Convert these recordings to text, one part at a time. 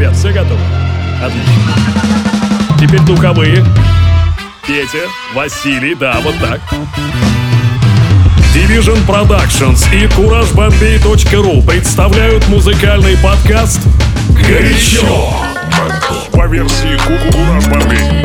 Ребят, все готовы? Отлично. Теперь духовые. Петя, Василий, да, вот так. Division Productions и CourageBombay.ru представляют музыкальный подкаст «Горячо» по версии Courage Bombay.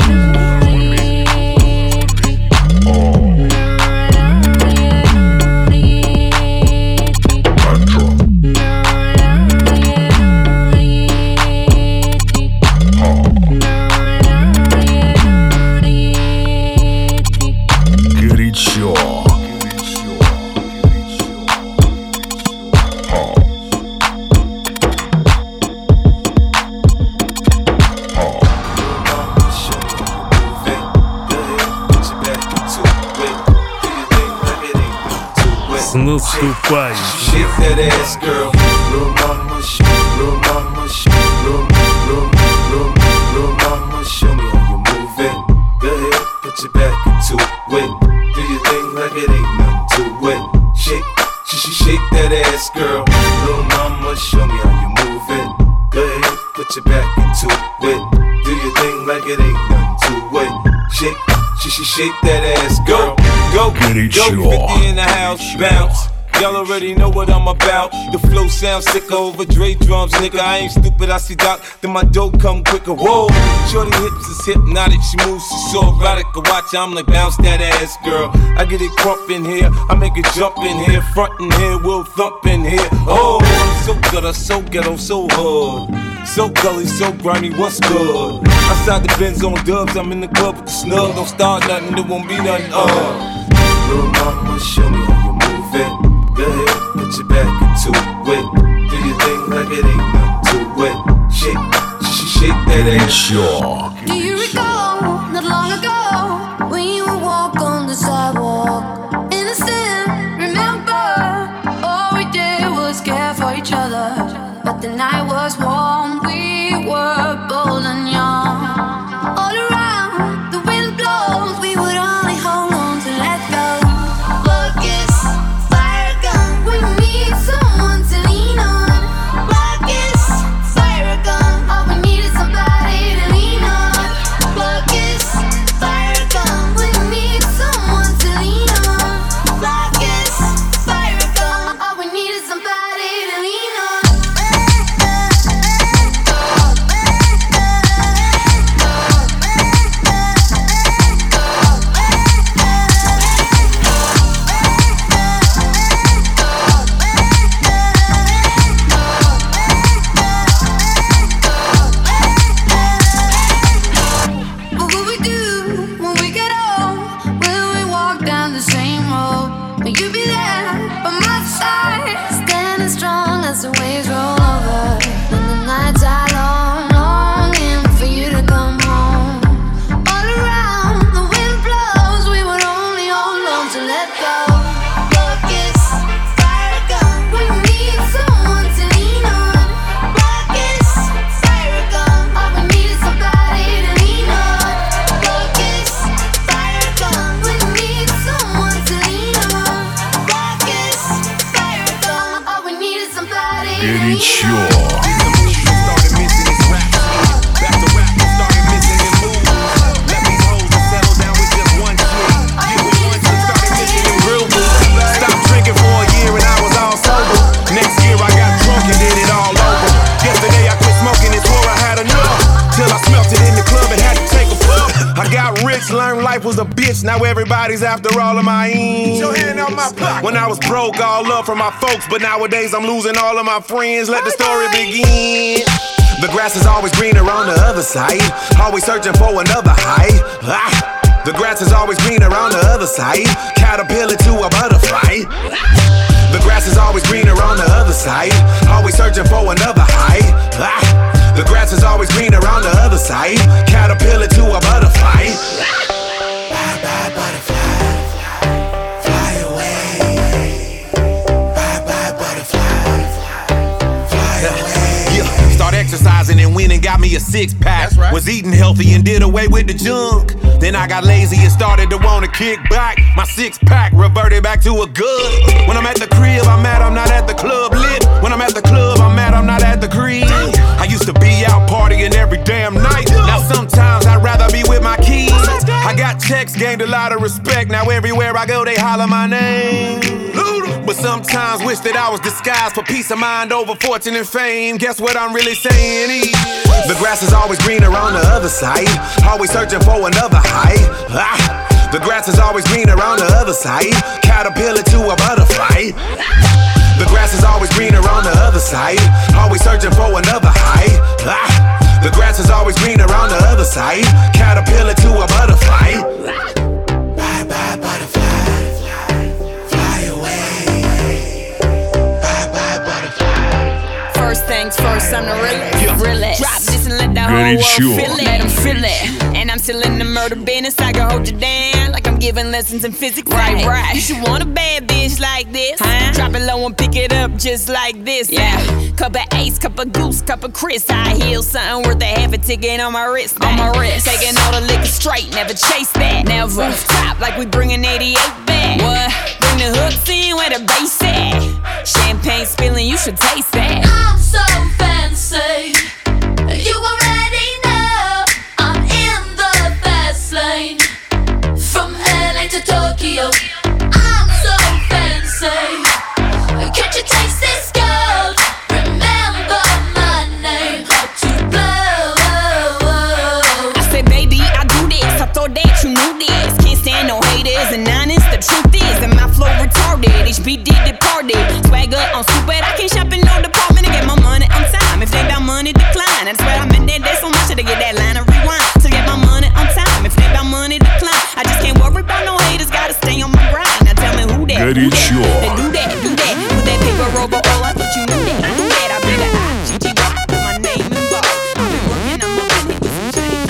Наступающим. Shake that ass, go, go, go, 50 in the house, bounce. Y'all already know what I'm about. The flow sounds sicker over Dre drums, nigga. I ain't stupid, I see Doc, then my dough come quicker. Whoa, shorty hips is hypnotic, she moves, she's so erotic. I watch, I'm like, bounce that ass, girl. I get it crump in here, I make it jump in here, front in here, we'll thump in here. Oh, I'm so good, I'm so ghetto, so hard. So gully, so grimy, what's good? Outside the Benz on dubs, I'm in the club with the snug. Don't start nothing, there won't be nothing, Little mama, show me how you move it. Go ahead, put your back into it. Do your thing like it ain't nothing to it. Shake that ass. Do you recall, not long ago, when you would walk on the sidewalk? Innocent, remember, all we did was care for each other. But the night was warm, we were bold and young. All around, the wind blows, we would only hold on to let go. Focus, fire gun, we need someone to lean on. Focus, fire gun, all we need is somebody to lean on. Focus, fire gun, we need someone to lean on. Focus, fire gun, all we need is somebody to lean on. Was a bitch, now everybody's after all of my ends. Your hand out my pocket. When I was broke, all love from my folks, but nowadays I'm losing all of my friends. Let the story begin. The grass is always greener on the other side. Always searching for another high. The grass is always greener on the other side. Caterpillar to a butterfly. The grass is always greener on the other side. Always searching for another high. The grass is always greener on the other side. Caterpillar to a butterfly. Bye bye butterfly, fly away. Bye bye butterfly, fly away. Yeah, start exercising and went and got me a six-pack. Right. Was eating healthy and did away with the junk. Then I got lazy and started to wanna kick back. My six-pack reverted back to a good. When I'm at the crib, I'm mad I'm not at the club lit. When I'm at the club, I'm mad I'm not at the crib. I used to be out text, gained a lot of respect. Now everywhere I go, they holler my name. But sometimes wish that I was disguised for peace of mind over fortune and fame. Guess what I'm really saying is the grass is always greener on the other side. Always searching for another height. The grass is always greener on the other side. Caterpillar to a butterfly. The grass is always greener on the other side. Always searching for another height. The grass is always greener on the other side. Caterpillar to a butterfly. Bye bye butterfly, fly away. Bye bye butterfly. First things first, I'm the realest. Drop this and let the whole world feel it. Let them feel it. And I'm still in the murder business. I can hold you down like I'm giving lessons in physics. Right. You should want a bad bitch like this. Drop it low and pick it up just like this. Yeah. Cup of Ace, cup of Goose, cup of Chris. I heal something worth a half a ticket on my wrist. Taking all the liquor straight, never chase that. Never top like we bringing 88 back. What? Bring the hooks in where the bass at. Champagne spilling, you should taste that. I'm so fancy. You already know I'm in the fast lane. From LA to Tokyo, I'm so fancy. Can't you taste this gold? Remember my name, hot to blow. I said, baby, I do this. I thought that you knew this. Can't stand no haters and honest. The truth is that my flow retarded. HB did departed. Swagger on stupid. I can't shop in no department to get my money on time. If they about money, decline. I swear I'm in that so much to get that line of rewind. To get my money on time. If they about money, decline. I just can't worry about no haters. Gotta stay on my grind. Now tell me who that? They do that. With that paper over all, I thought you knew that. I knew that. I bet I GG with my name involved. I've been working on my money with some change.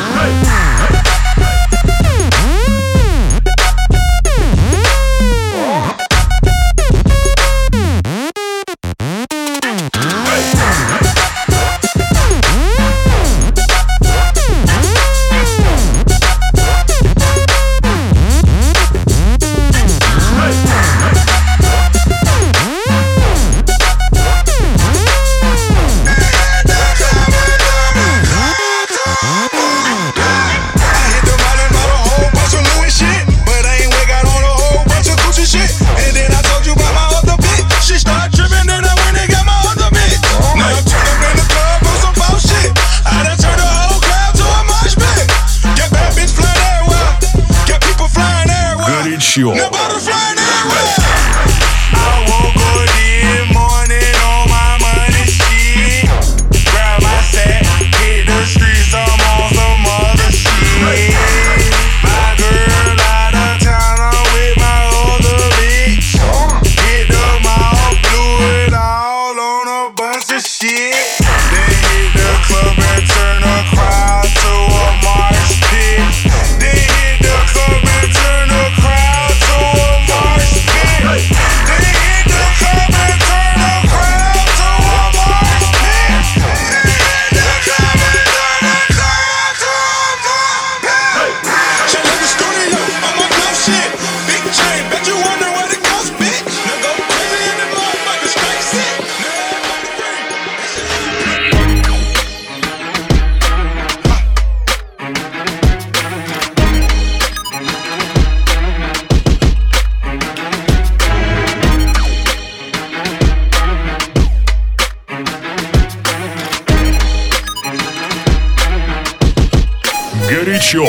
Горячо.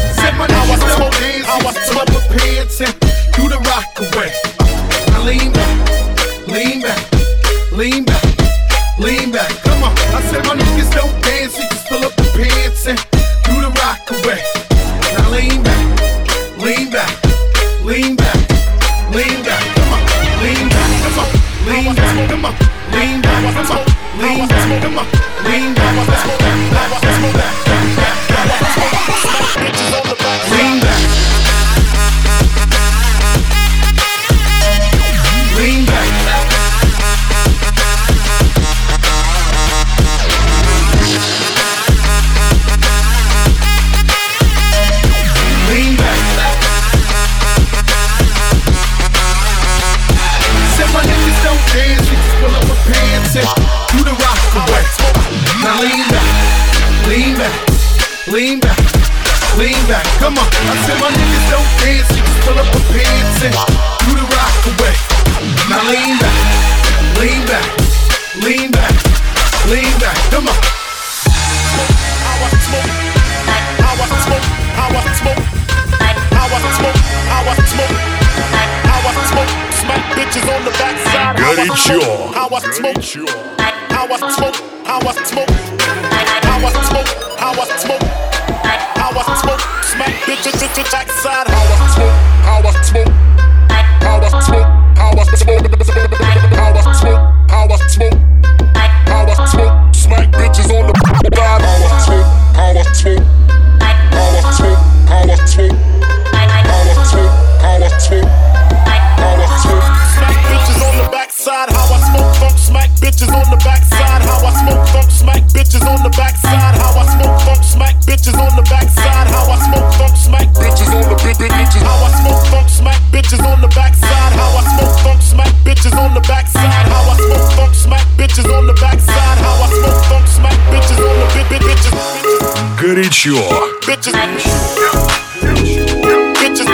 Lean back, come on. I said my niggas don't dance, you just fill up the pants and do the rock away. Now lean back, lean back, lean back, lean back, come on, lean back, come on, lean back, come on, lean back, come on, lean back, come on, lean back, lean back, lean back. Do the rock away. Now lean back, lean back, lean back, lean back. Come on, I said my niggas don't dance, they just pull up the pants and do the rock away. Now lean back, lean back, lean back, lean back. Come on. How I smoke, how I smoke, how I smoke, how I smoke, how I smoke, how I smoke. Smack bitches on the backside. Горячо. How I smoke, how I smoke, how I smoke, how I smoke, how I smoke, how I smoke. Smack bitches to the backside. How I smoke, how I smoke, how I smoke, how I smoke, how I smoke, how I smoke, how I smoke. Smack bitches on the backside. How I smoke, how I smoke, how I smoke, how I smoke, how I smoke, how I smoke. Smack bitches on the backside. How I smoke funk. Smack bitches on the backside. How I smoke funk. Smack bitches on the backside. How I smoke funk. Smack bitches on the backside. How I smoke funk. Smack bitches on the bitches. How I smoke funk. Smack bitches on the backside. How I smoke funk. Smack bitches on the backside. How I smoke funk. Smack bitches on the backside. How I smoke funk. Smack bitches on the bitches. Горячо. Bitches. Bitches.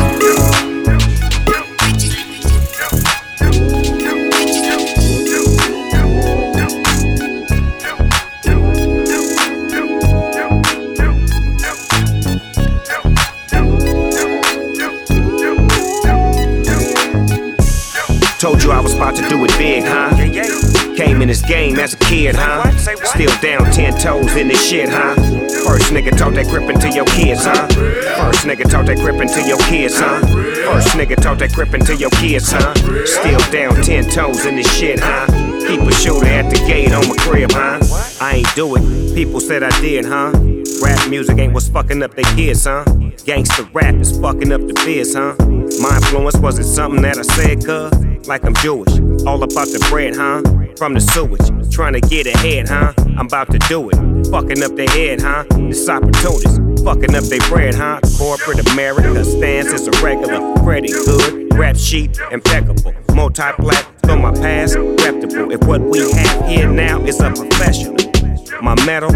Told you I was about to do it big, huh? Came in this game as a kid, huh? Still down 10 toes in this shit, huh? First nigga taught that grip into your kids, huh? First nigga taught that grip into your kids, huh? First nigga taught that grip into your kids, huh? Still down 10 toes in this shit, huh? Keep a shooter at the gate on my crib, huh? I ain't do it, people said I did, huh? Rap music ain't what's fucking up their kids, huh? Gangsta rap is fucking up the biz, huh? My influence wasn't something that I said, cuz like I'm Jewish, all about the bread, huh? From the sewage, trying to get ahead, huh? I'm about to do it, fucking up their head, huh? This opportunist, fucking up their bread, huh? Corporate America stance is irregular, pretty good, rap sheet impeccable, multi-plat from my past, reputable. If what we have here now is a professional, my metal,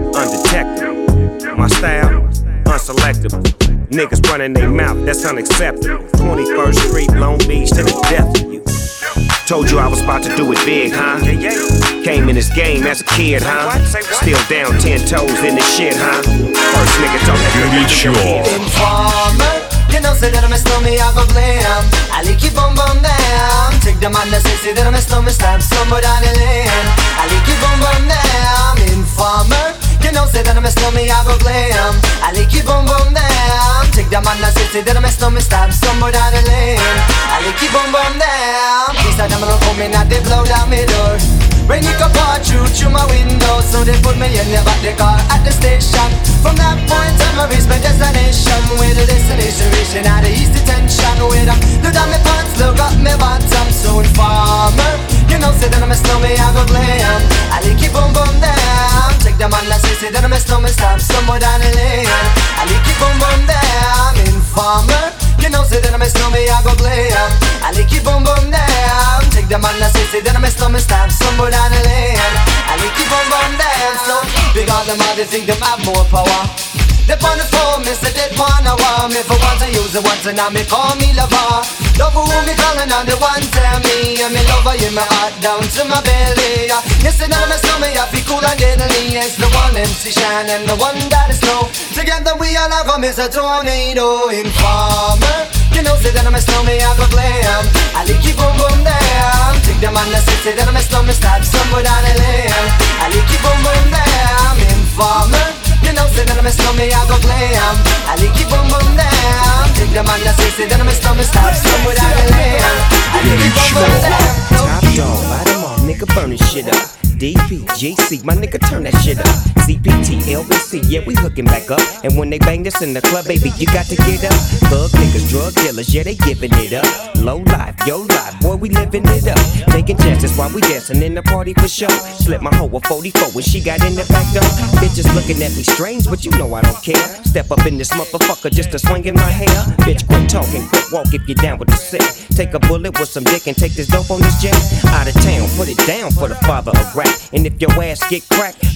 undetectable, my style, unselectable. Niggas running their mouth, that's unacceptable. 21st Street, Long Beach to the death of you. Told you I was about to do it big, huh? Came in this game as a kid, huh? Still down 10 toes in this shit, huh? First nigga talk that Горячо. Informer, you know say that I'm a snowman, I go blam. I like keep on down. Take the man that say that I'm a snowman, stab somebody down the lane. I like keep on down. Informer, you know say that I'm a snowman, I go blam. I like keep on down. Take the man that say that I'm a snowman, stab somebody down the lane. I like keep on down. These are them that come in and they blow down my door. Rain it come pour through my window, so they put me in the back the car at the station. From that point on, I reached my destination. Where the destination reaching out of east detention. Where I look down my pants, look up my bottom. So informer, you know say that I'm a snowman, I go glam. I like keep on down. Take the man that say that I'm a snowman, stop somewhere down the lane. I like keep on down. Informer, you know say that I'm a snowman, I go glam. I like keep on down. Take the man that say that I'm a snowman, stop somewhere down the lane. I like keep on down. So big on them all, they think them have more power. They on the phone, me say they wanna want me. For once I use it once and now me call me lover. Love who me calling on the one tell me. And me lover in my heart down to my belly. You say that I'm a snowman, I feel cool and deadly. It's the one MC Shine and the one that is snow. Together we all have come as a tornado. Informer, you know say that I'm a snowman, I go glam. I like keep on down. Take the man that say that I'm a snowman, stop somewhere down the lane. I like keep on down. Informer, you know say that I'm a snowman, I go glam. I like keep on down. Take the man that say that I'm a snowman, stop somewhere down the lane. I like keep on down. Top dog, light 'em off, nigga, burn this shit up. DP, GC, my nigga, turn that shit up. CPT, LBC, yeah, we hooking back up. And when they bang this in the club, baby, you got to get up. Thug niggas, drug dealers, yeah, they giving it up. Low life, yo life, boy, we living it up. Taking chances while we dancing in the party for sure. Slip my hoe a 44 when she got in the back door. Bitches looking at me strange, but you know I don't care. Step up in this motherfucker just to swing in my hair. Bitch, quit talking, quit walk if you're down with the sick. Take a bullet with some dick and take this dope on this jet. Out of town, put it down for the father of rap. And if your ass get cracked,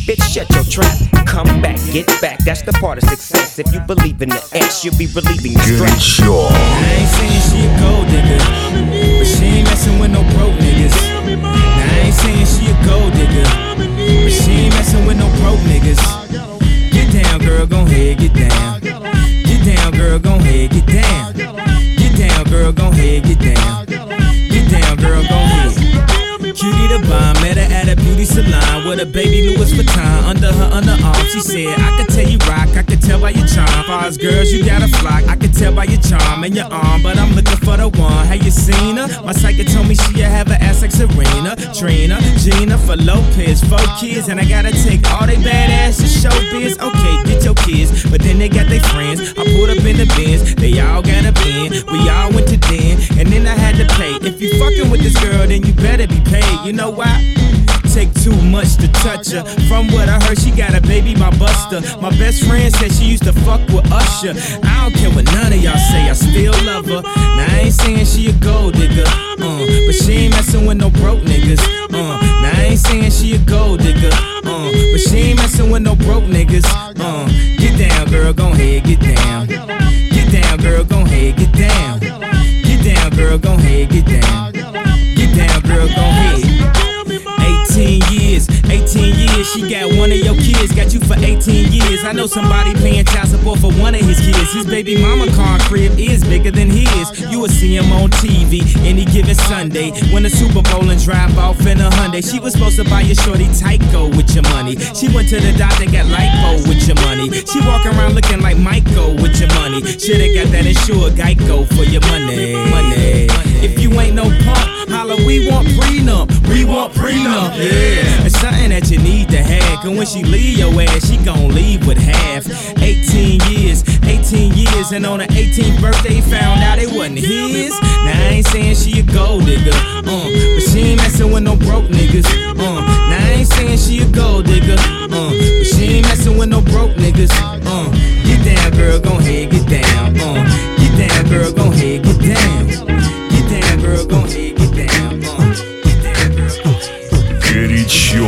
Bitch, shut your trap. Come back, get back. That's the part of success. If you believe in the X, you'll be relieving the stress. I ain't saying she a gold digger, but she ain't messing with no broke niggas. Now I ain't saying she a gold digger, but she ain't messing with no broke niggas. Get down, girl, gon' head, get down. Get down, girl, gon' head, get down. Get down, girl, gon' head, get down. Get down, girl, gon' head. Cutie the bomb, met her at a beauty salon with a baby Louis Vuitton under her underarm. She said, I could tell you rock, I could tell by your charm. Far as girls, you got a flock, I could tell by your charm and your arm. But I'm looking for the one, have you seen her? My psychic told me she'll have an ass like Serena, Trina, Gina, for Lopez, 4 kids. And I gotta take all they badass to show biz. Okay, get your kids, but then they got their friends. I pulled up in the Benz, they all got a bin. We all went to den, and then I had to pay. If you fucking with this girl, then you better be paid. You know why? Take too much to touch her. From what I heard, she got a baby by Buster. My best friend said she used to fuck with Usher. I don't care what none of y'all say, I still love her. Now I ain't saying she a gold digger, but she ain't messing with no broke niggas. Now I ain't saying she a gold digger, but she ain't messing with no broke niggas. Get down, girl, gon' head, get down. Get down, girl, gon' head, get down. Get down, girl, gon' head, get down. Get down, girl, gon' head. 18 years, she got one of your kids, got you for 18 years. I know somebody paying child support for one of his kids. His baby mama car crib is bigger than his. You will see him on TV any given Sunday. Win the Super Bowl and drive off in a Hyundai. She was supposed to buy your shorty Tyco with your money. She went to the doctor and got lipo with your money. She walk around looking like Michael with your money. Shoulda got that insured Geico for your money. If you ain't no punk, holla, we want prenup. We want prenup, yeah. It's something that you need to have. Cause when she leave your ass, she gon' leave with half. 18 years, and on her 18th birthday, found out it wasn't his. Now I ain't saying she a gold digger, but she ain't messing with no broke niggas. Now I ain't saying she a gold digger, but she ain't messing with no broke niggas. Get down, girl, gon' head, get down. Get down, girl, gon' head, get down. Get down, girl, gon' head, get down. Get down, girl, gon' head. Горячо.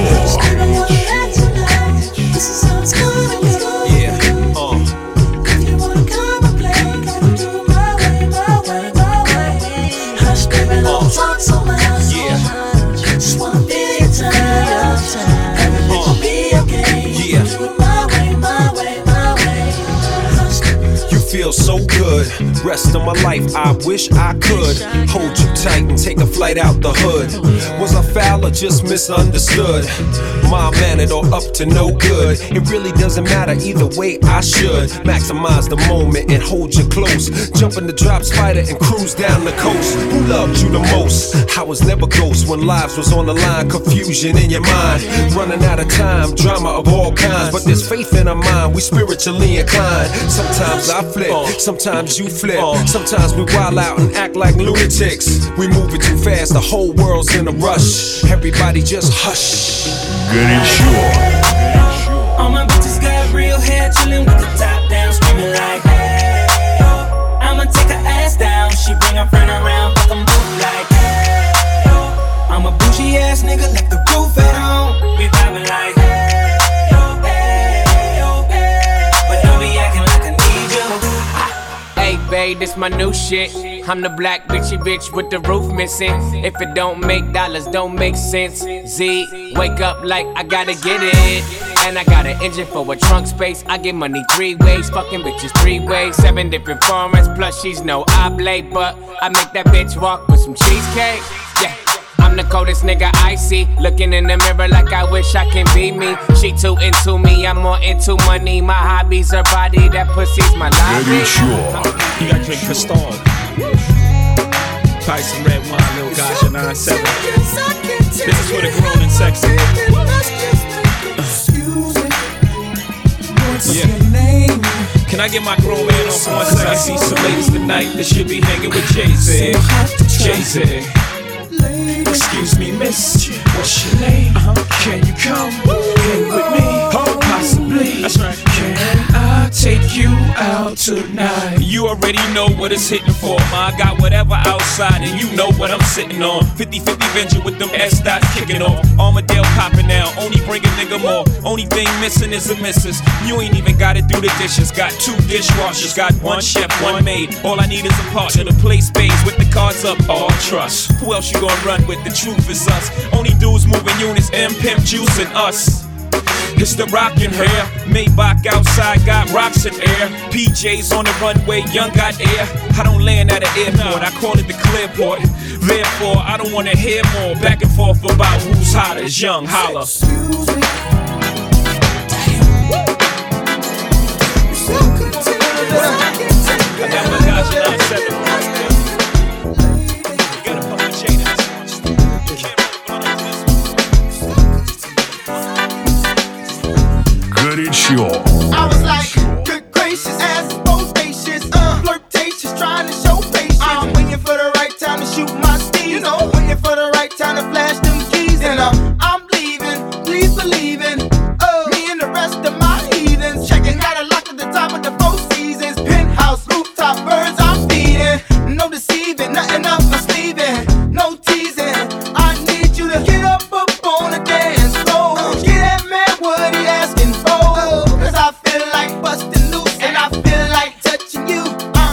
Feel so good, rest of my life I wish I could hold you tight and take a flight out the hood. Was I foul or just misunderstood? Mild-mannered or up to no good? It really doesn't matter either way, I should maximize the moment and hold you close. Jump in the drop spider and cruise down the coast. Who loved you the most? I was never ghost when lives was on the line. Confusion in your mind, running out of time, drama of all kinds. But there's faith in our mind, we spiritually inclined. Sometimes I flip, sometimes you flip. Sometimes we wild out and act like lunatics. We moving too fast, the whole world's in a rush. Everybody just hush. Горячо. All my bitches got real hair, chillin' with the top down, screaming like, hey, oh. I'ma take her ass down, she bring her friend around, fuck 'em both like, hey, oh. I'm a bougie ass nigga, left the roof at home. We vibing like, hey, oh, hey, oh, hey. But don't be acting like I need you. Hey, babe, this my new shit. I'm the black bitchy bitch with the roof missing. If it don't make dollars, don't make sense. Z, wake up like I gotta get it. And I got an engine for a trunk space. I get money 3 ways, fucking bitches 3 ways. 7 different formats, plus she's no oblate. But I make that bitch walk with some cheesecake. Yeah. I'm the coldest nigga I see. Looking in the mirror like I wish I can be me. She too into me, I'm more into money. My hobby's her body, that pussy's my lobby. You gotta drink Cristal. Probably some red wine, little gotcha 9-7. This is for the grown and sexy. Yeah. Can I get my grown man on for 1 second? I see some ladies tonight that should be hanging with Jay-Z. Jay-Z. Excuse me, miss, what's your name? Can you come hang with me? Possibly. That's right. Can I take you out out tonight. You already know what it's hitting for, ma. I got whatever outside, and you know what I'm sitting on. 50-50 venture with them S-dots kicking off. Armadale popping now, only bring a nigga more. Only thing missing is a missus. You ain't even gotta do the dishes. Got 2 dishwashers, got 1 chef, 1 maid. All I need is a partner to play spades with the cards up. All trust. Who else you gonna run with? The truth is us. Only dudes moving units, M Pimp Juice and us. It's the rockin' hair. Maybach outside got rocks in air. PJs on the runway, young got air. I don't land at an airport, I call it the Clearport. Therefore, I don't wanna hear more back and forth about who's hotter. It's young, holla. Excuse me. Горячо. I was like, good gracious, ass is bodacious, flirtatious, trying to show patience. I'm waiting for the right time to shoot my steez, you know, waiting for the right time to flash them keys. And I'm leaving, please believe in me and the rest of my heathens. Checking out a lock at the top of the 4 seasons. Penthouse, rooftop, birds I'm feeding. No deceiving, nothing up my sleeving. No teasing, I need you to get up on the dance floor. Get that man what he asking for. Cause I feel like busting loose and I feel like touching you.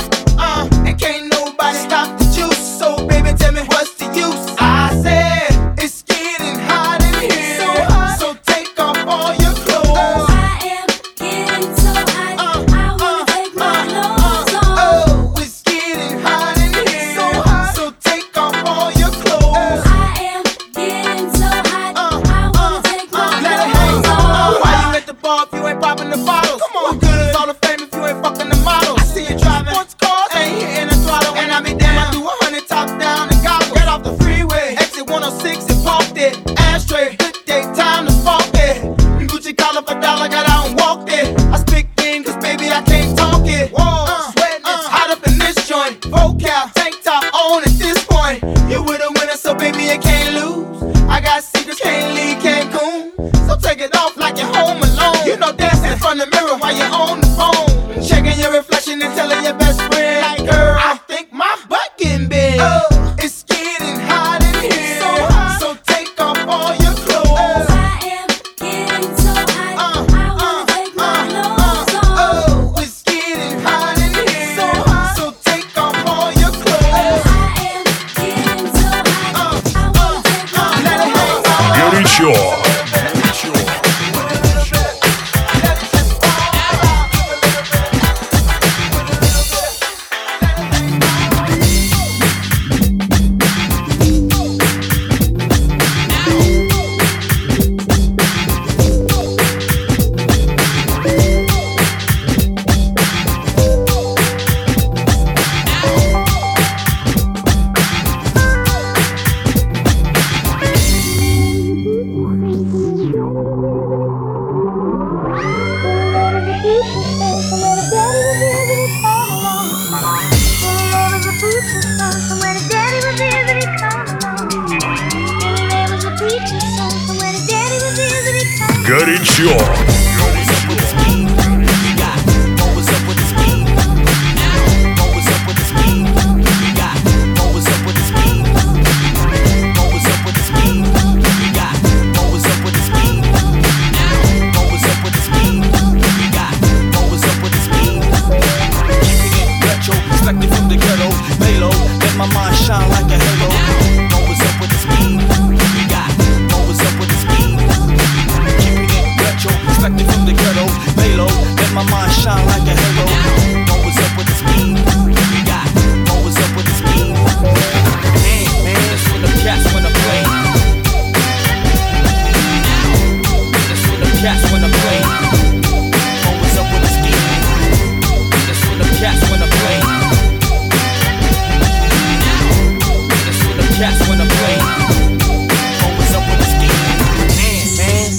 And can't nobody stop the juice. So baby, tell me what's the use? I said it's getting hot in here, so hot. So take off all your clothes. I am getting so hot. I wanna take my clothes off. Oh, it's getting hot in here, so hot. So take off all your clothes. I am getting so hot. I wanna take my clothes off. Why you at the bar if you ain't popping the bottles? Come on, what good is all the fame if you ain't fucking the models? I see you driving sports cars, ain't hitting the throttle. And I be damn, I do 100 top down and gobble. Get off the freeway, exit 106 and parked it. Ashtray, good day, time to spark it. Gucci collar for $1, got out and walked it. I speak game, cause baby I can't talk it. Whoa, sweating, it's hot up in this joint. Vocal, tank top on at this point. You with a winner, so baby you can't lose. I got secrets, can't leave Cancun. So take it off like you're home alone. You know dancing in front of the mirror while you're on the phone. Checking your reflection and telling your best friend, like, girl, I think my butt getting big. It's getting hot in here, so hot. So take off all your clothes. I am getting so hot. I wanna take my clothes off. Oh, it's getting hot in here, so hot. So take off all your clothes. I am getting so hot. I wanna take my clothes off. Горячо. Горячо. My mind shine like a halo. Always up with the speed. We got always up with the speed. Keeping it retro, expected from the ghetto. Lay low, let my mind shine like a halo. Always up with the speed. We got always up with the speed. Man, that's when the cats wanna play. That's when the cats wanna play. Always up with the speed. That's when the cats wanna play. Cats wanna play. Always up with the scheme. Man.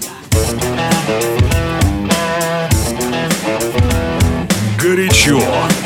Горячо.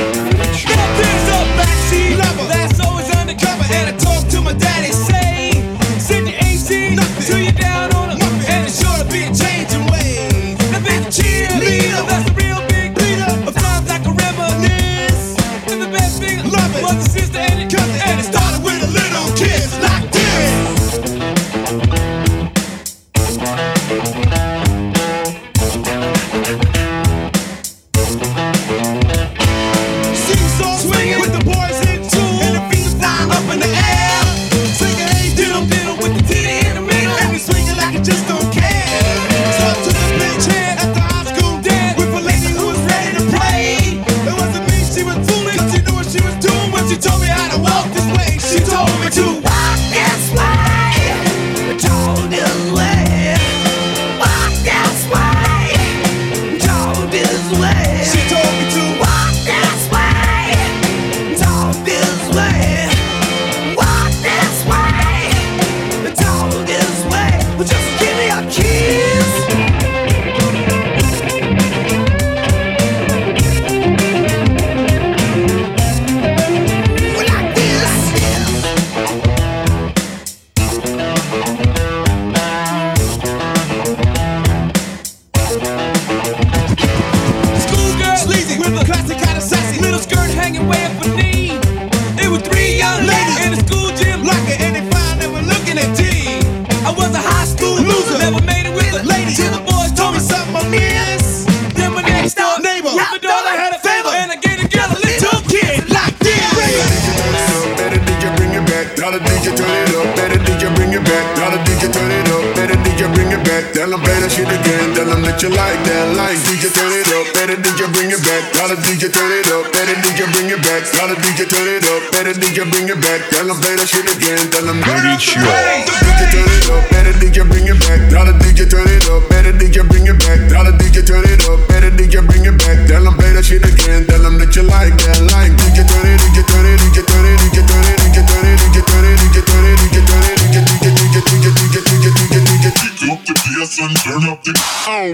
shit again. Tell them that you like that. Like DJ, turn it up. Better DJ, bring it back. Tell the DJ, turn it up. Better DJ, bring it back. Tell the DJ, turn it up. Better DJ, bring it back. Tell them play that shit again. Tell them DJ, turn it up. Better DJ, bring it back. Tell the DJ, turn it up. Better DJ, bring it back. Tell the DJ, turn it up. Better DJ, bring it back. Tell them play that shit again. Tell them that you like that. Like DJ, turn it, DJ, turn it, DJ, turn it, DJ, turn it, DJ, turn it, DJ, turn it, DJ, turn it, DJ, turn it, DJ, DJ, DJ, DJ, DJ, DJ, DJ, DJ, DJ, up the PS and turn up the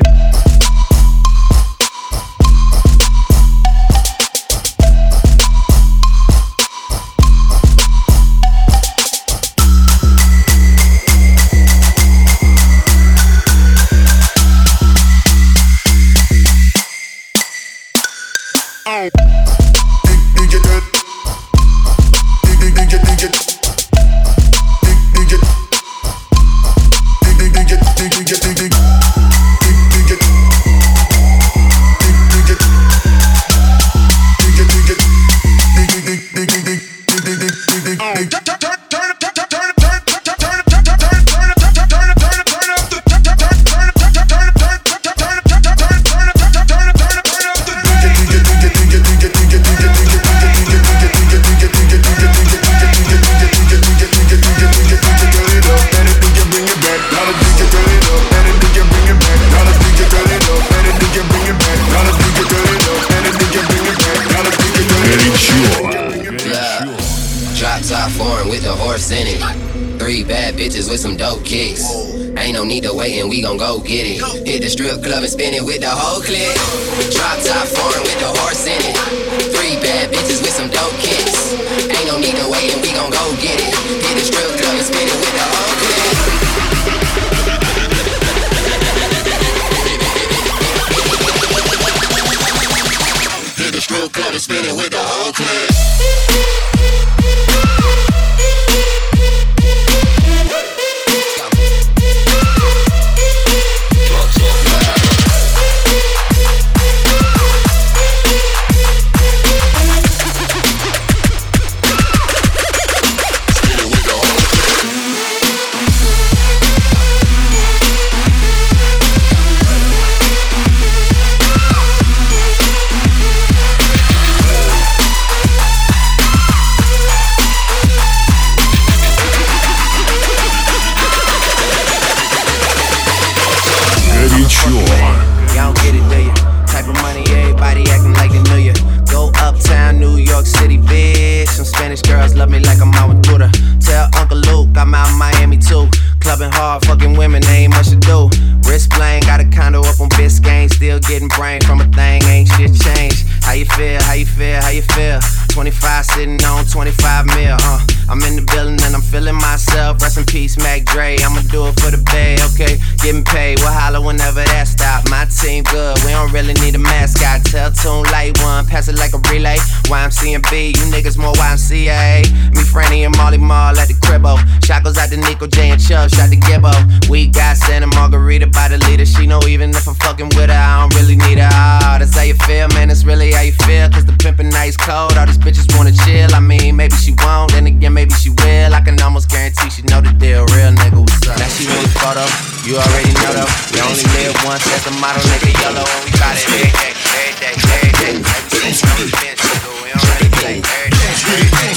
with some dope kicks. Ain't no need to wait and we gon' go get it. Hit the strip club and spin it with the whole clique. Drop top foreign with the horse in it. 3 bad bitches with some dope kicks. Ain't no need to wait and we gon' go get it. Hit the strip club and spin it with the whole clique. Hit the strip club and spin it with the whole clique. Y'all don't get it, do ya? Type of money, everybody acting like they knew ya. Go uptown, New York City, bitch. Some Spanish girls love me like I'm out with Buddha. Tell Uncle Luke I'm out in Miami too. Clubbing hard, fucking women, they ain't much to do. Wrist bling, got a condo up on Biscayne. Still getting brain from a thing, ain't shit changed. How you feel, how you feel, how you feel? 25 sitting on 25 mil, I'm in the building and I'm feeling myself. Rest in peace, Mac Dre, I'ma do it for the bay, okay? Getting paid, we'll holler whenever that stop. My team good, we don't really need a mascot. Tell Tune Light One, pass it like a relay. YMC and B, you niggas more YMCA. Me, Franny, and Molly Mall at the cribbo. Shot goes out to Nico J and Chubb, shot to Gibbo. We got Santa Margarita by the leader. She know even if I'm fucking with her, I don't really need her. Oh, that's how you feel, man, that's really how you feel. Cause the pimpin' nice cold, all these bitches wanna chill. I mean, maybe she won't, then again, maybe she will. I can almost guarantee she know the deal. Real nigga, what's up? Now she really photo, you already know though. You only live once, that's the motto, nigga, YOLO. And we got it every day, every day, every day. Every day, we don't really play every day, every day.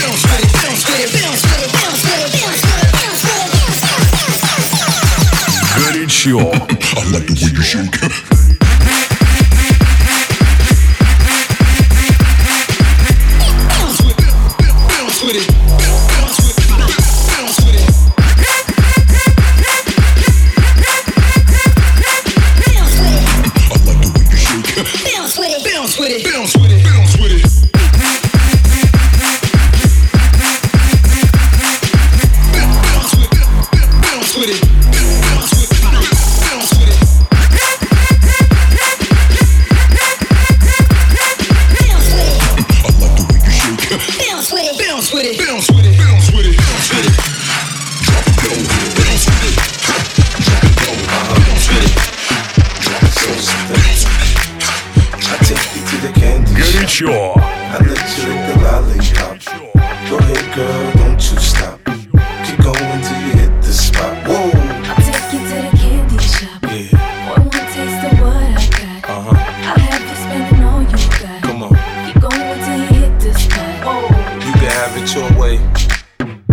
Горячо. I like the way you shake. Горячо. I let you lick the lollipop. Go ahead, girl, don't you stop. Keep going till you hit the spot. Whoa. I'll take you to the candy shop. Yeah.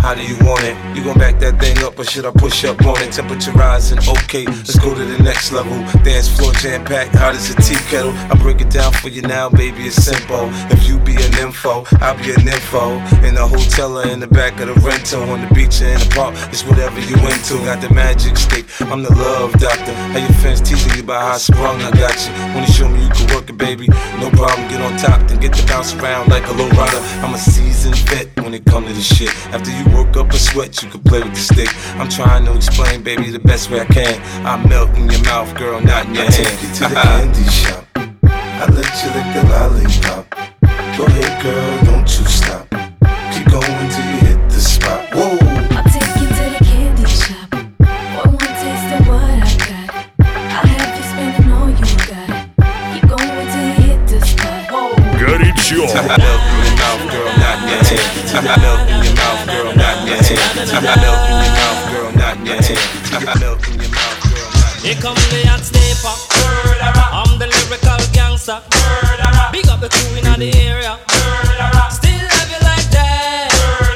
How do you want it? You gon' back that thing up or should I push up on it? Temperature rising, okay, let's go to the next level. Dance floor jam packed, hot as a tea kettle. I break it down for you now, baby, it's simple. If you be an info, I'll be an info. In the hotel or in the back of the rental, on the beach or in the park, it's whatever you into. Got the magic stick, I'm the love doctor. How your fans teasing you about how I sprung, I got you. When you show me you can work it, baby, no problem, get on top, then get to bounce around like a low rider. I'm a seasoned vet when it comes to this shit. After you work up a sweat, you can play with the stick. I'm trying to explain, baby, the best way I can. I melt in your mouth, girl, not in your hand. Take you to the candy shop. I let you lick the lollipop. Go ahead, girl, don't you stop. Keep going till you hit the spot. Whoa. I'll take you to the candy shop. For one taste of what I got, I'll have you spending all you got. Keep going till you hit the spot. Whoa. Горячо. Melt in your mouth, girl, not in your hand. Melt in your mouth, girl, not in your hand. Melt in your mouth, girl, not in your hand. Melt in your mouth, girl, not in your hand. Here come the hot stepper. I'm the lyrical gangster. Big up the crew in the area. Still love you like that.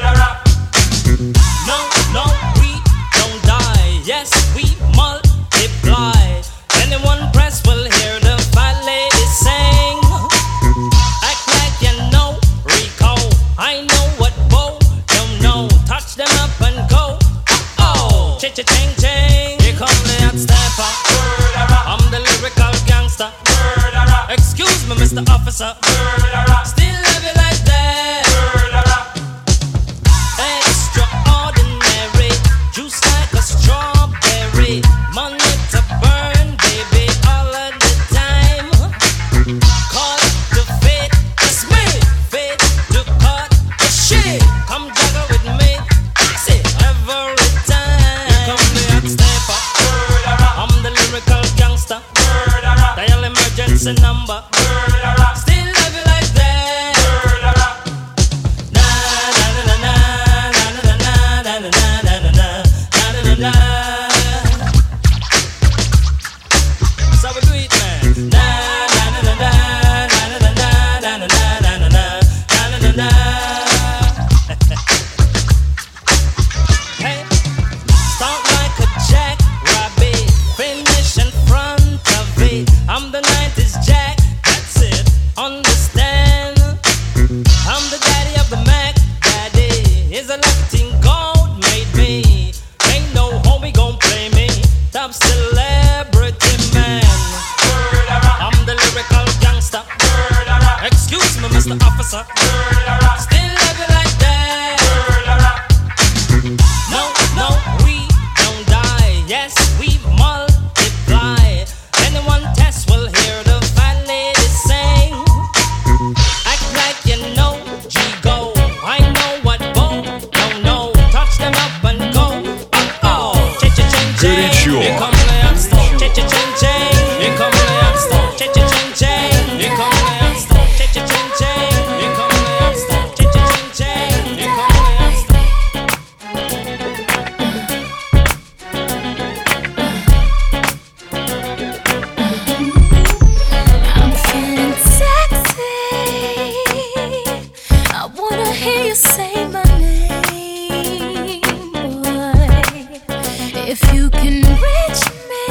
No, we don't die. Yes, we multiply. Anyone press will hear the fat lady sing. Act like you know Rico. I know what Bo don't know. Touch them up and go. Oh, cha-cha-ching-ching. Here come the hot stepper. I'm the lyrical gangster. Excuse me, Mr. Officer. Still love you like that. Extraordinary. Juice like a strawberry. Money to burn, baby, all of the time. Call it the fate, it's me. Fate to cut the shit. Come juggle with me. Fix it every time. Here come the hot stepper. I'm the lyrical gangster. Dial emergency number. Still love you like that. Na na na na na na na na na na na na na. So we do it, man. Na na na na na na na na na na na na na na. Hey, start like a jackrabbit, finish in front of it. I'm the 90s Jack, that's it, understand? I'm the daddy of the Mac, daddy. Is a Latin gold made me. Ain't no homie gon' play me. Top celebrity man. I'm the lyrical gangster. Excuse me, Mr. Officer. Still love you like that. No, we don't die. Yes, we multiply. Anyone test will hear the fat lady sing. Act like you know G-Go. I know what Bo don't know. Touch them up and go. Oh, cha-cha-ching-ching. Here come the youngster. Cha-cha-ching-ching. Here come the youngster. Cha-cha-ching-ching. Here come the youngster. Cha-cha-ching-ching. Here come the youngster. Cha-cha-ching-ching. Here come the youngster. I'm feeling sexy. I wanna hear you say my name, boy. If you can reach me,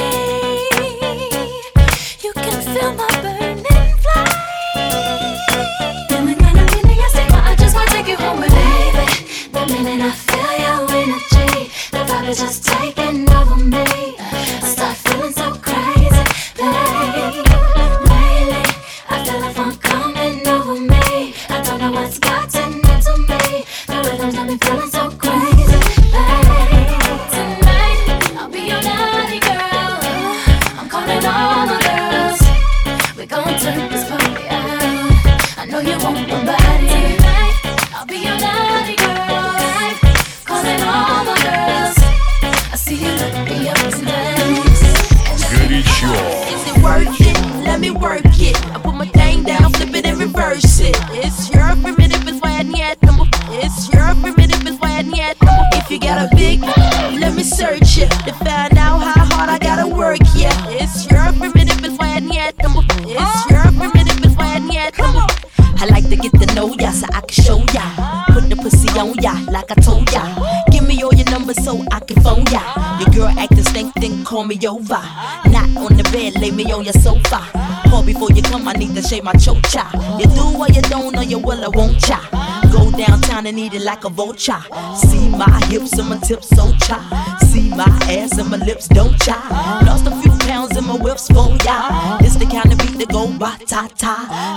you can feel my burning flame. Then we got a minute, I say, I just wanna take you home with me, baby. The minute I feel your energy, the vibe is just taking over me. I start feeling so crazy, babe. Lately, I feel the funk coming over me. I don't know what's gotten into me. The rhythm's got me feeling so crazy, babe. Tonight, I'll be your naughty girl. I'm calling all the girls. We gon' turn this party out. I know you want my body. Tonight, I'll be your naughty girl. Calling all the girls. I see you look me up tonight. Горячо. Is it worth it? Let me work it. I put my thing down, flip it and reverse it. It's your primitive, it's why I need number. It's your primitive, it's why I need number. If you got a big, let me search it to find out how hard I gotta work. Yeah, it's your primitive, it's why I need number. It's your primitive, it's why I need number. I like to get to know ya so I can show ya. Put the pussy on ya, like I told ya. Give me all your numbers so I can phone ya. Your girl acting stink, then call me over. Not on the bed, lay me on your sofa. Call before you come, I need to shave my chocha. You do or you don't, or you will or won't cha. Go downtown and eat it like a vulture. See my hips and my tips so cha. See my ass and my lips don't cha. Lost a few pounds in my whips for ya. It's the kind of beat that go ra-ta-ta.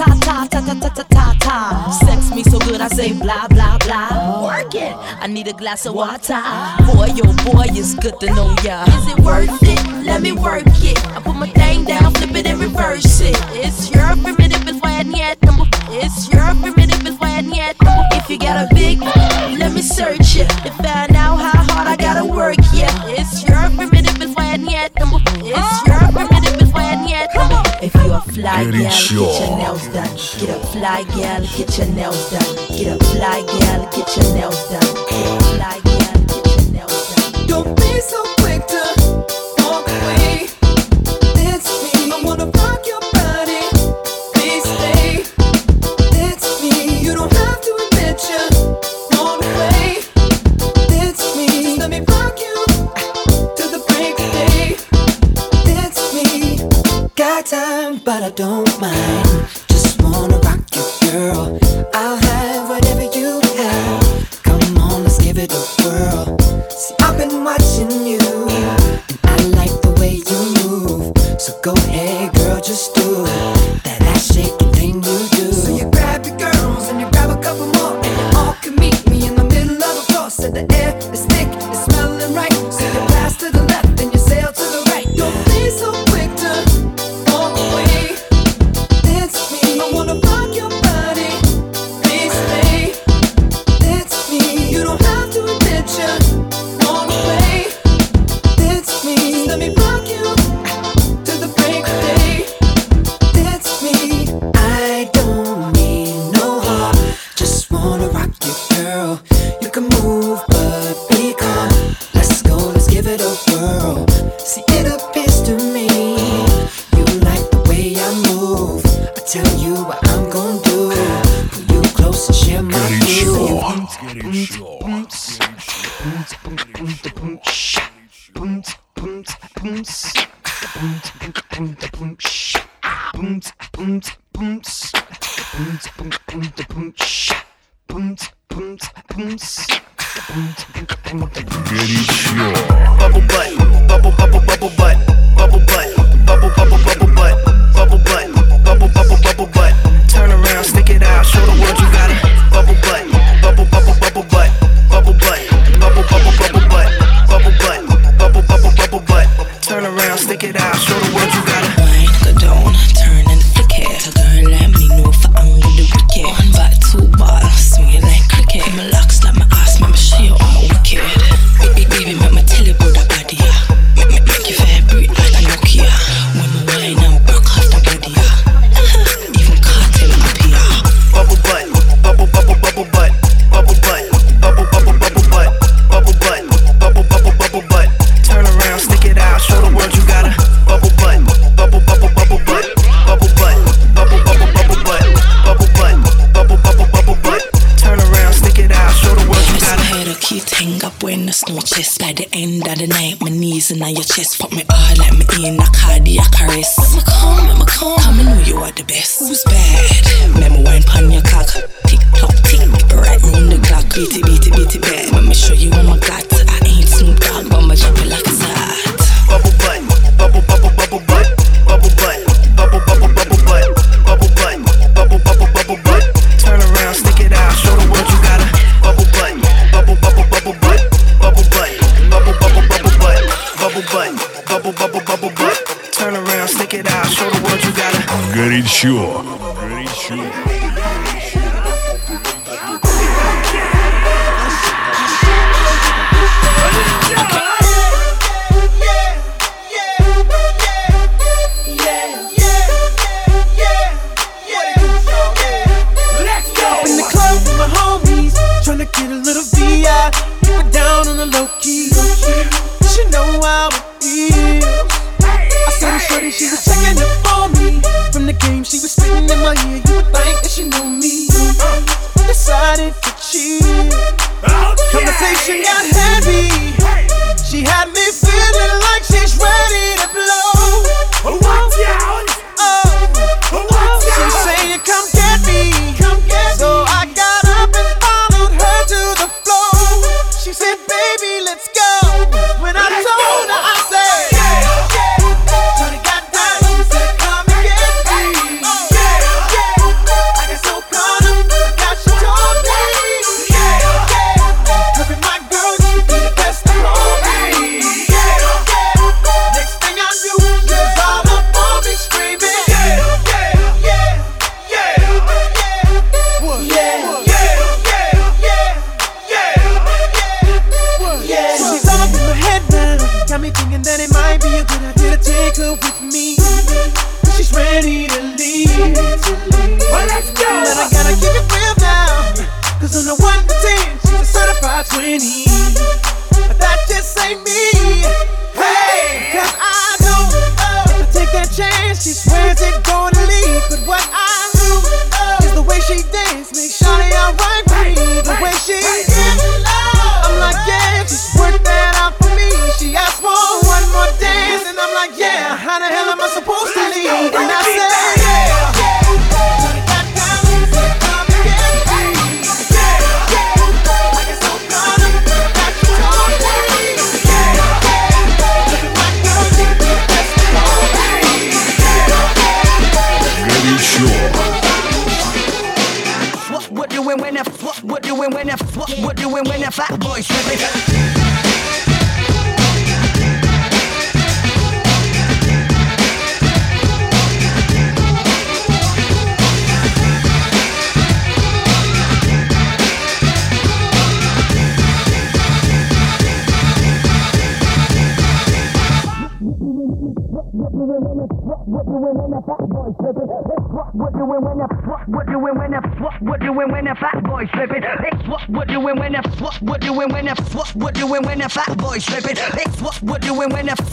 Ra-ta-ta-ta-ta-ta-ta-ta-ta. Sex me so good I say blah blah blah. Work it, I need a glass of water. Boy, oh boy, it's good to know ya. Is it worth it? Let me work it. I put my thing down, flip it and reverse it. It's your primitive, it's why I need number. It's your primitive, it's why I need number. If you got a big, let me search it to find out how hard I gotta work. Yeah, it's your primitive, it's why I need number. It's your primitive, it's why I need number. If you a fly gal, get your nails done. Get a fly gal, get your nails done. Get a fly gal, get your nails done. Get a fly gal, get your nails done. Don't be so quick to walk away. It's me. I wanna rock your body. Please stay. It's me. You don't have to admit you want away. It's me. Just let me rock you to the break of day. It's me. Got time, but I don't mind. Just wanna rock you, girl. I'll have whatever you have. Come on, let's give it a whirl. See, I've been watching you, and I like the way you move. So go ahead, girl, just do that ass shaking thing you do. So you grab your girls and you grab a couple more, and you all can meet me in the middle of the floor. So the air is thick, it's smelling right. So you pass to the left and you sail to the right. Don't be so quick to walk away. It's me. I wanna rock your body. Please stay. It's me. You don't have to admit you want away. It's me. Just let me rock you to the break of day. It's me. I don't need no heart. Just wanna rock you, girl. You can move, but be calm. Let's go, let's give it a whirl. See, it appears to me you like the way I move. I tell you what I'm gonna do. Pull you close and share my view. Bubble butt, bubble bubble bubble butt, bubble butt, bubble bubble bubble butt, bubble butt, bubble bubble bubble butt. Turn around, stick it out, show the world you got it. Bubble butt, bubble bubble bubble butt, bubble butt, bubble bubble bubble butt, bubble butt, bubble bubble bubble butt. Turn around, stick it out, show the world you got it. Wine go down, turn and flick it. A girl let me know if I am with the wicked. One back, two ball, swing it like cricket. My locks like my ass, make me show you I'm a wicked. Baby, make me tell you about the body, yeah. Make you vibrate like a Nokia. When my wine and broke off the body, yeah. Even cartel up here. Bubble butt, bubble bubble bubble butt, bubble butt, bubble bubble bubble butt, bubble butt, bubble bubble bubble butt. Turn around, stick it out, show the world you got a bubble butt, bubble bubble bubble butt, bubble butt, bubble bubble bubble butt, bubble butt, bubble bubble bubble butt. Turn around, stick it out, show the world you got a. Head a cute hang up when the snow chest. By the end of the night, my knees in your chest. Fuck me all like me in a cardiac arrest. Make me come, come and know you are the best. Who's bad? Make me wine pon your cock. Tick tock tick, right round the clock. Beat it, beat it, beat it bad. Let me show you what I got. I ain't Snoop Dogg, but my drop it like it's hot. Bubble butt, bubble bubble bubble butt, bubble butt, bubble bubble bubble butt, bubble butt, bubble bubble bubble butt. Turn around, stick it out, show the world you got a bubble butt, bubble bubble bubble butt, bubble butt, bubble bubble bubble butt, bubble butt, bubble bubble bubble butt. Turn around, stick it out, show the world you got a. Горячо, горячо. Tryna get a little VI, keep it down on the low key. She know how it feels. I saw the shorty, she was checking up on me. From the game, she was spitting in my ear. You would think that she knew me. Decided to she conversation got heavy. She had me feeling like she's ready to blow. Watch out! She's saying, come get me. So I got up and followed her to the floor. She said, baby, let's go. When I told her, I said, Tony got down, he said, come and get me. I got so caught up, forgot she told me. Hurry, my girl, you be the best of all me. Next thing I knew, she was all up on me screaming. She's all up in my head now, got me thinking that it might be a good idea to take her with me. She's ready to leave. Well, let's go. But I gotta keep it real now, 'cause on the 1 to 10, she's a certified 20. But that just ain't me. Hey, 'cause I know if I take that chance, she swears it's gonna leave. But what I do is the way she dance makes Shawty alright with me. The way she I'm like, yeah, just work that out for me. She asked for one more dance, and I'm like, yeah, how the hell am I supposed to leave? And I said, What doing when the fat boy slipping? What doing when the fat boy slipping? What doing when the fat boy slipping? What doing when the fat boy slipping? What doing when the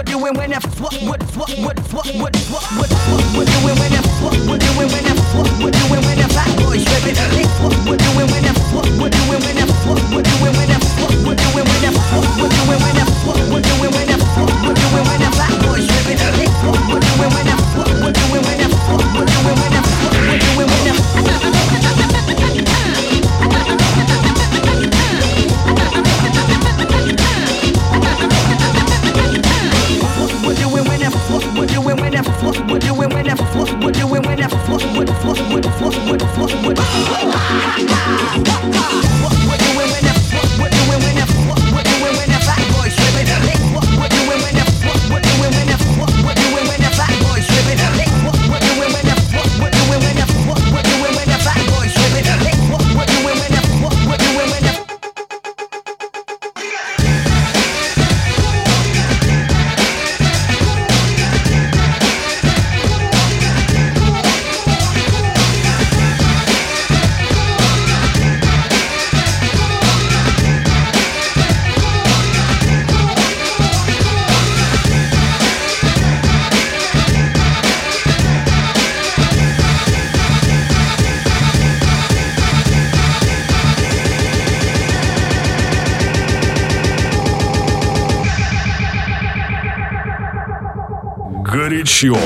Горячо.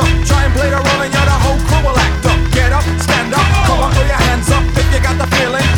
Play the role and you're the whole crew will act up. Get up, stand up, come on, throw your hands up if you got the feeling.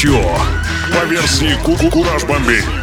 горячо. По версии Кураж Бомбей.